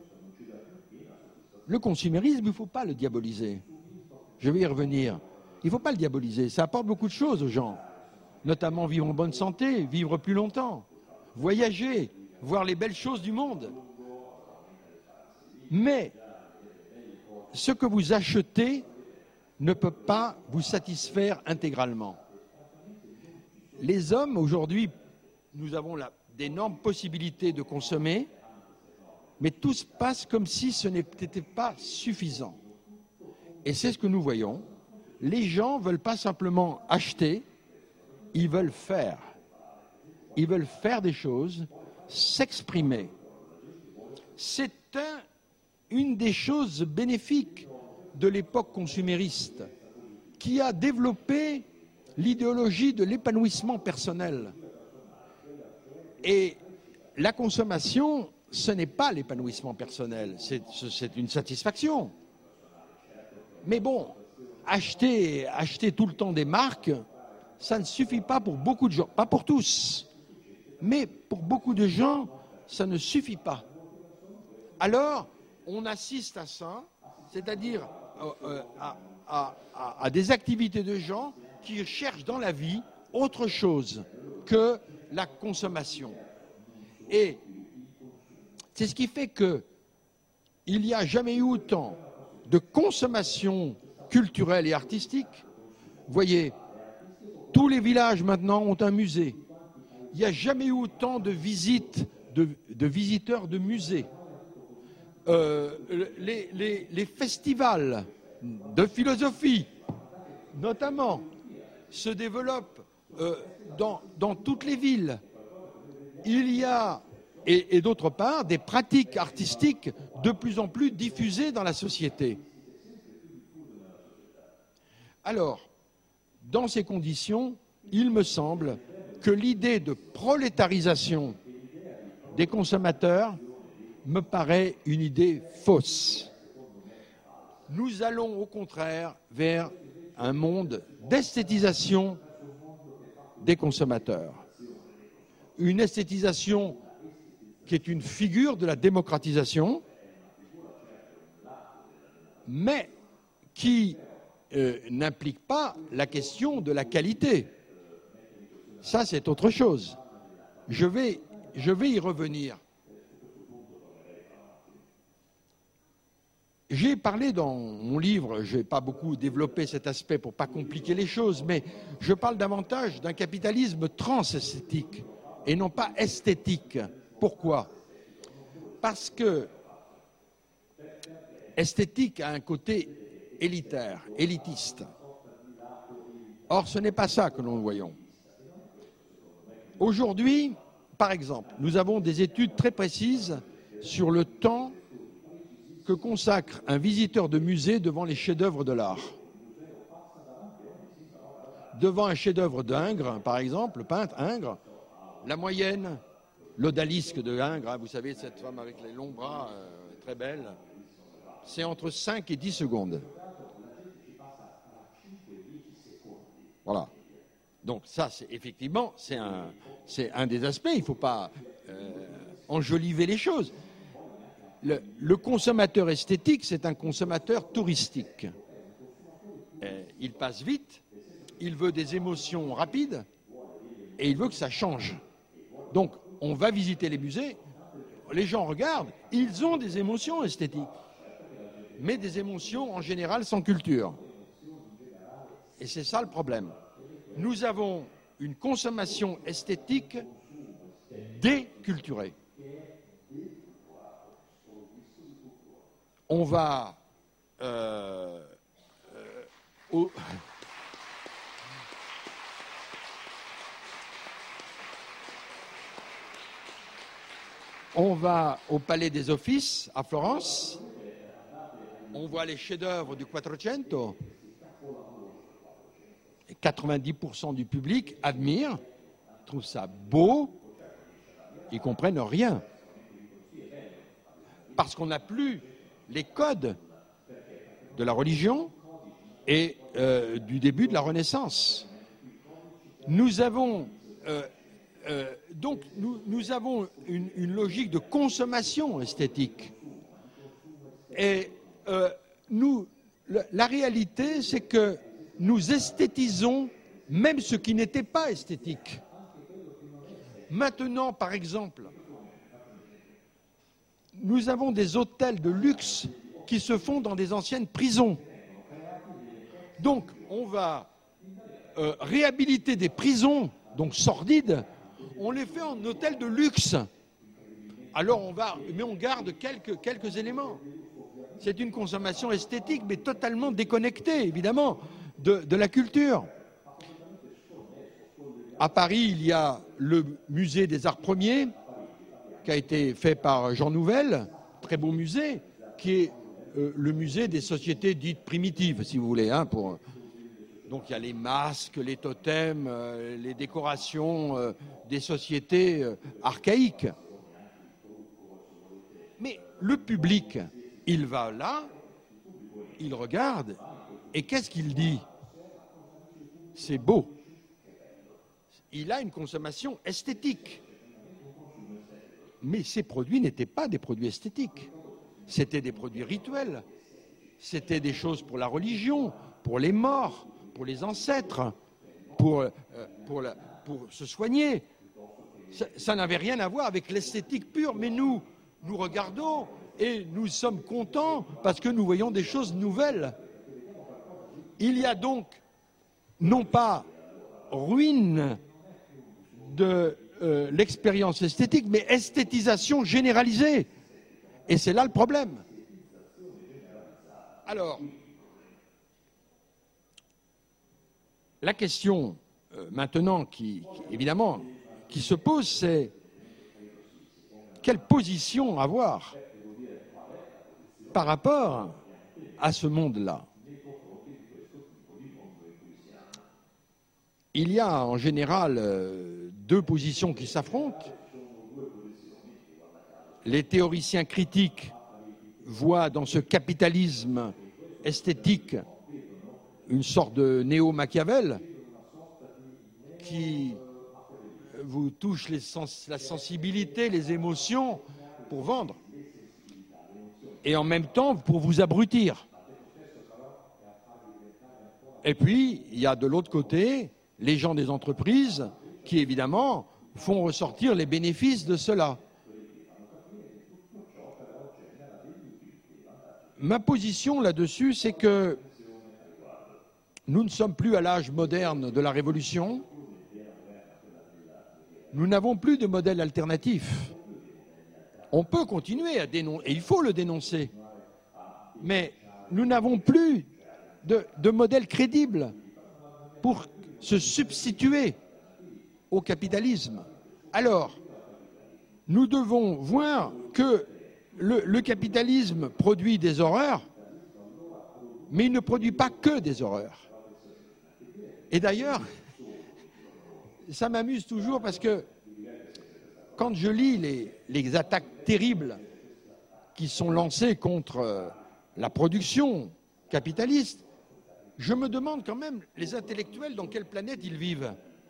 Le consumérisme, il ne faut pas le diaboliser. Je vais y revenir. Il ne faut pas le diaboliser. Ça apporte beaucoup de choses aux gens, notamment vivre en bonne santé, vivre plus longtemps, voyager, voir les belles choses du monde. Mais ce que vous achetez ne peut pas vous satisfaire intégralement. Les hommes, aujourd'hui, nous avons d'énormes possibilités de consommer, mais tout se passe comme si ce n'était pas suffisant. Et c'est ce que nous voyons. Les gens ne veulent pas simplement acheter, ils veulent faire. Ils veulent faire des choses, s'exprimer. C'est un, une des choses bénéfiques de l'époque consumériste, qui a développé l'idéologie de l'épanouissement personnel. Et la consommation, ce n'est pas l'épanouissement personnel, c'est une satisfaction. Mais bon, acheter, acheter tout le temps des marques, ça ne suffit pas pour beaucoup de gens, pas pour tous, mais pour beaucoup de gens, ça ne suffit pas. Alors, on assiste à ça, c'est-à-dire euh, à, à, à, à des activités de gens qui cherchent dans la vie autre chose que la consommation. Et c'est ce qui fait qu'il n'y a jamais eu autant de consommation culturelle et artistique. Vous voyez, tous les villages maintenant ont un musée. Il n'y a jamais eu autant de visites, de, de visiteurs de musées. Euh, les, les, les festivals de philosophie, notamment, se développent euh, dans, dans toutes les villes. Il y a, et, et d'autre part, des pratiques artistiques de plus en plus diffusées dans la société. Alors, dans ces conditions, il me semble que l'idée de prolétarisation des consommateurs me paraît une idée fausse. Nous allons au contraire vers un monde d'esthétisation des consommateurs. Une esthétisation qui est une figure de la démocratisation, mais qui euh, n'implique pas la question de la qualité. Ça, c'est autre chose. Je vais, je vais y revenir. J'ai parlé dans mon livre, je n'ai pas beaucoup développé cet aspect pour ne pas compliquer les choses, mais je parle davantage d'un capitalisme transesthétique et non pas esthétique. Pourquoi? Parce que esthétique a un côté élitaire, élitiste. Or, ce n'est pas ça que nous voyons. Aujourd'hui, par exemple, nous avons des études très précises sur le temps que consacre un visiteur de musée devant les chefs-d'œuvre de l'art. Devant un chef-d'œuvre d'Ingres, par exemple, le peintre Ingres, la moyenne, l'odalisque de Ingres, hein, vous savez, cette femme avec les longs bras, euh, très belle, c'est entre cinq et dix secondes. Voilà. Donc ça, c'est, effectivement, c'est un, c'est un des aspects. Il ne faut pas euh, enjoliver les choses. Le, le consommateur esthétique, c'est un consommateur touristique. Euh, il passe vite, il veut des émotions rapides et il veut que ça change. Donc, on va visiter les musées, les gens regardent, ils ont des émotions esthétiques, mais des émotions en général sans culture. Et c'est ça le problème. Nous avons une consommation esthétique déculturée. On va euh, euh, au... On va au Palais des Offices à Florence, on voit les chefs-d'œuvre du Quattrocento, et quatre-vingt-dix pour cent du public admire, trouve ça beau, ils ne comprennent rien. Parce qu'on n'a plus les codes de la religion et euh, du début de la Renaissance. Nous avons... Euh, Euh, donc, nous, nous avons une, une logique de consommation esthétique. Et euh, nous, la, la réalité, c'est que nous esthétisons même ce qui n'était pas esthétique. Maintenant, par exemple, nous avons des hôtels de luxe qui se font dans des anciennes prisons. Donc, on va euh, réhabiliter des prisons, donc sordides, on les fait en hôtel de luxe. Alors on va, mais on garde quelques, quelques éléments. C'est une consommation esthétique, mais totalement déconnectée, évidemment, de, de la culture. À Paris, il y a le musée des Arts Premiers, qui a été fait par Jean Nouvel, très beau musée, qui est euh, le musée des sociétés dites primitives, si vous voulez, hein, pour... Donc il y a les masques, les totems, euh, les décorations euh, des sociétés euh, archaïques. Mais le public, il va là, il regarde, et qu'est-ce qu'il dit? C'est beau. Il a une consommation esthétique. Mais ces produits n'étaient pas des produits esthétiques. C'était des produits rituels. C'était des choses pour la religion, pour les morts, pour les ancêtres, pour, euh, pour, la, pour se soigner. Ça, ça n'avait rien à voir avec l'esthétique pure, mais nous, nous regardons et nous sommes contents parce que nous voyons des choses nouvelles. Il y a donc, non pas ruine de euh, l'expérience esthétique, mais esthétisation généralisée. Et c'est là le problème. Alors, la question euh, maintenant qui, qui, évidemment, qui se pose, c'est quelle position avoir par rapport à ce monde-là. Il y a en général euh, deux positions qui s'affrontent. Les théoriciens critiques voient dans ce capitalisme esthétique une sorte de néo-Machiavel qui vous touche les sens, la sensibilité, les émotions pour vendre et en même temps pour vous abrutir. Et puis, il y a de l'autre côté les gens des entreprises qui, évidemment, font ressortir les bénéfices de cela. Ma position là-dessus, c'est que nous ne sommes plus à l'âge moderne de la Révolution. Nous n'avons plus de modèle alternatif. On peut continuer à dénoncer, et il faut le dénoncer, mais nous n'avons plus de, de modèle crédible pour se substituer au capitalisme. Alors, nous devons voir que le, le capitalisme produit des horreurs, mais il ne produit pas que des horreurs. Et d'ailleurs, ça m'amuse toujours parce que quand je lis les, les attaques terribles qui sont lancées contre la production capitaliste, je me demande quand même, les intellectuels, dans quelle planète ils vivent.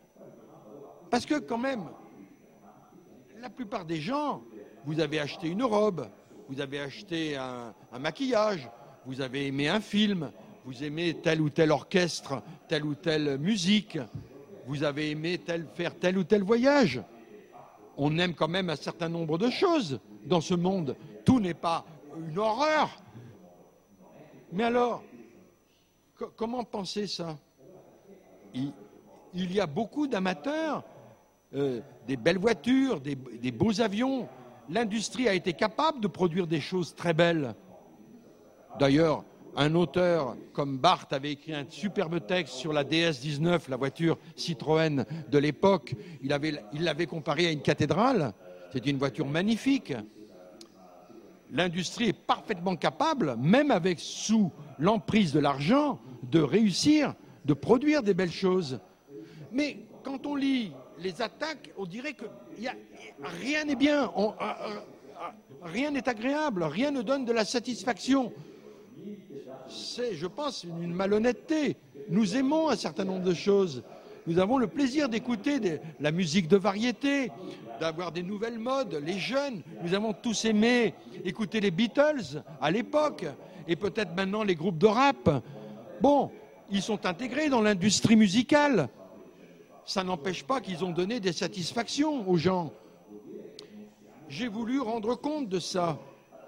Parce que quand même, la plupart des gens, vous avez acheté une robe, vous avez acheté un, un maquillage, vous avez aimé un film, vous aimez tel ou tel orchestre, telle ou telle musique, vous avez aimé tel, faire tel ou tel voyage. On aime quand même un certain nombre de choses dans ce monde. Tout n'est pas une horreur. Mais alors, co- comment penser ça? il, il y a beaucoup d'amateurs, euh, des belles voitures, des, des beaux avions. L'industrie a été capable de produire des choses très belles. D'ailleurs, un auteur comme Barthes avait écrit un superbe texte sur la D S dix-neuf, la voiture Citroën de l'époque. Il avait, il l'avait comparée à une cathédrale. C'était une voiture magnifique. L'industrie est parfaitement capable, même avec sous l'emprise de l'argent, de réussir, de produire des belles choses. Mais quand on lit les attaques, on dirait que y a, rien n'est bien, on, rien n'est agréable, rien ne donne de la satisfaction. C'est, je pense, une malhonnêteté. Nous aimons un certain nombre de choses. Nous avons le plaisir d'écouter des, la musique de variété, d'avoir des nouvelles modes. Les jeunes, nous avons tous aimé écouter les Beatles à l'époque, et peut-être maintenant les groupes de rap. Bon, ils sont intégrés dans l'industrie musicale. Ça n'empêche pas qu'ils ont donné des satisfactions aux gens. J'ai voulu rendre compte de ça.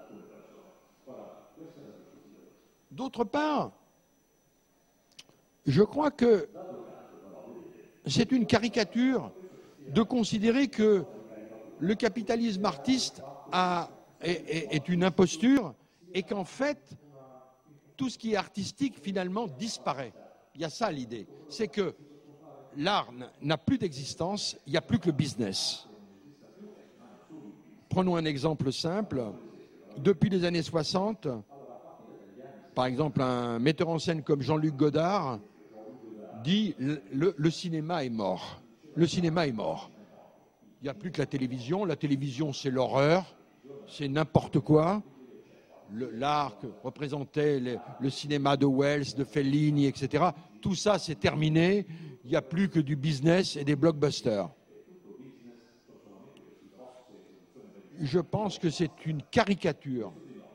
D'autre part, je crois que c'est une caricature de considérer que le capitalisme artiste a, est, est, est une imposture et qu'en fait, tout ce qui est artistique, finalement, disparaît. Il y a ça l'idée. C'est que l'art n'a plus d'existence, il n'y a plus que le business. Prenons un exemple simple. Depuis les années soixante, par exemple, un metteur en scène comme Jean-Luc Godard dit le, le, le cinéma est mort. Le cinéma est mort. Il n'y a plus que la télévision. La télévision, c'est l'horreur, c'est n'importe quoi. L'art que représentait le, le cinéma de Wells, de Fellini, et cetera. Tout ça, c'est terminé. Il n'y a plus que du business et des blockbusters. Je pense que c'est une caricature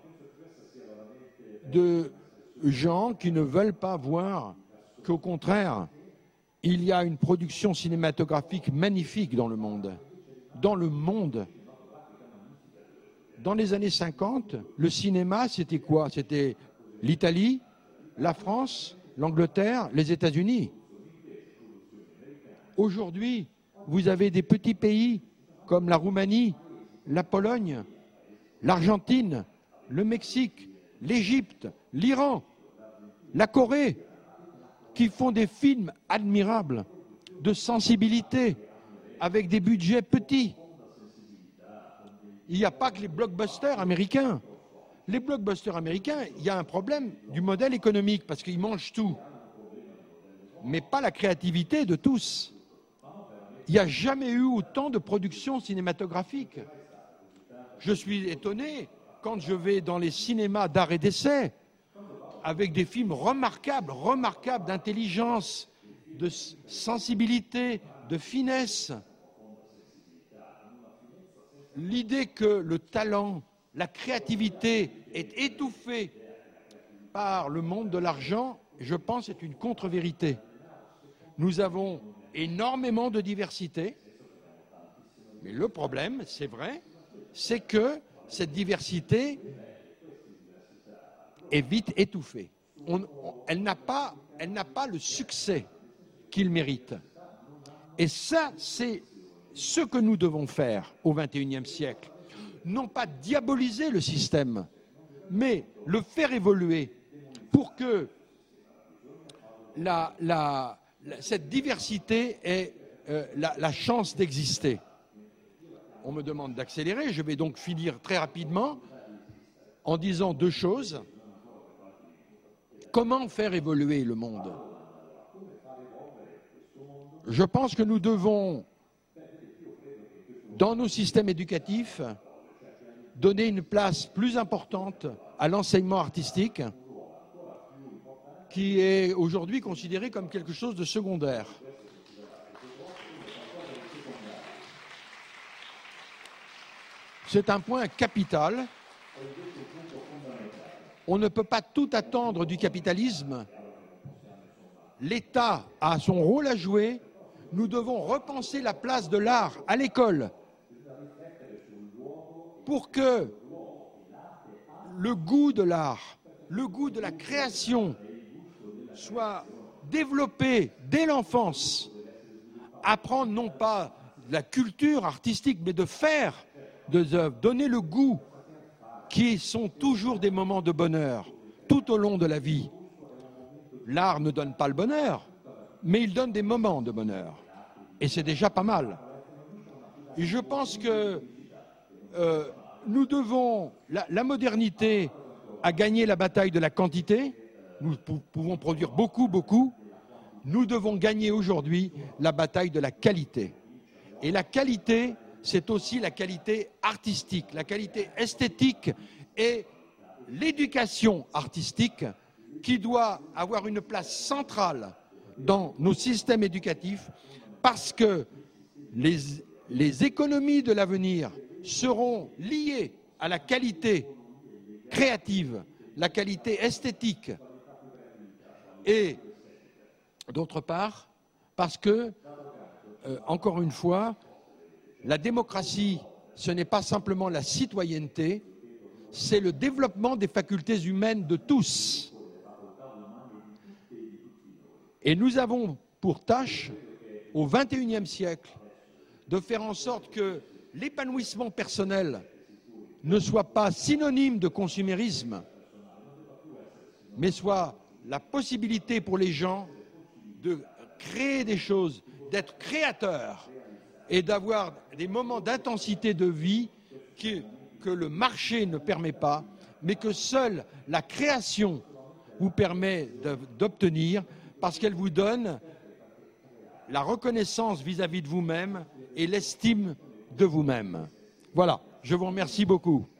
de gens qui ne veulent pas voir qu'au contraire, il y a une production cinématographique magnifique dans le monde. Dans le monde. Dans les années cinquante, le cinéma, c'était quoi? C'était l'Italie, la France, l'Angleterre, les États-Unis. Aujourd'hui, vous avez des petits pays comme la Roumanie, la Pologne, l'Argentine, le Mexique, l'Égypte, l'Iran, la Corée, qui font des films admirables, de sensibilité, avec des budgets petits. Il n'y a pas que les blockbusters américains. Les blockbusters américains, il y a un problème du modèle économique, parce qu'ils mangent tout, mais pas la créativité de tous. Il n'y a jamais eu autant de production cinématographique. Je suis étonné quand je vais dans les cinémas d'art et d'essai, avec des films remarquables, remarquables d'intelligence, de sensibilité, de finesse. L'idée que le talent, la créativité est étouffée par le monde de l'argent, je pense, est une contre-vérité. Nous avons énormément de diversité, mais le problème, c'est vrai, c'est que cette diversité est vite étouffée. On, on, elle n'a pas, elle n'a pas le succès qu'il mérite. Et ça, c'est ce que nous devons faire au vingt et unième siècle. Non pas diaboliser le système, mais le faire évoluer pour que la, la, la, cette diversité ait euh, la, la chance d'exister. On me demande d'accélérer, je vais donc finir très rapidement en disant deux choses. Comment faire évoluer le monde? Je pense que nous devons, dans nos systèmes éducatifs, donner une place plus importante à l'enseignement artistique, qui est aujourd'hui considéré comme quelque chose de secondaire. C'est un point capital. On ne peut pas tout attendre du capitalisme. L'État a son rôle à jouer. Nous devons repenser la place de l'art à l'école pour que le goût de l'art, le goût de la création soit développé dès l'enfance. Apprendre non pas de la culture artistique, mais de faire des œuvres, donner le goût, qui sont toujours des moments de bonheur tout au long de la vie. L'art ne donne pas le bonheur, mais il donne des moments de bonheur. Et c'est déjà pas mal. Et je pense que euh, nous devons... La, la modernité a gagné la bataille de la quantité. Nous pou- pouvons produire beaucoup, beaucoup. Nous devons gagner aujourd'hui la bataille de la qualité. Et la qualité, c'est aussi la qualité artistique, la qualité esthétique et l'éducation artistique qui doit avoir une place centrale dans nos systèmes éducatifs parce que les, les économies de l'avenir seront liées à la qualité créative, la qualité esthétique et d'autre part parce que, euh, encore une fois, la démocratie, ce n'est pas simplement la citoyenneté, c'est le développement des facultés humaines de tous. Et nous avons pour tâche, au vingt et unième siècle, de faire en sorte que l'épanouissement personnel ne soit pas synonyme de consumérisme, mais soit la possibilité pour les gens de créer des choses, d'être créateurs et d'avoir des moments d'intensité de vie qui, que le marché ne permet pas, mais que seule la création vous permet d'obtenir parce qu'elle vous donne la reconnaissance vis-à-vis de vous-même et l'estime de vous-même. Voilà, je vous remercie beaucoup.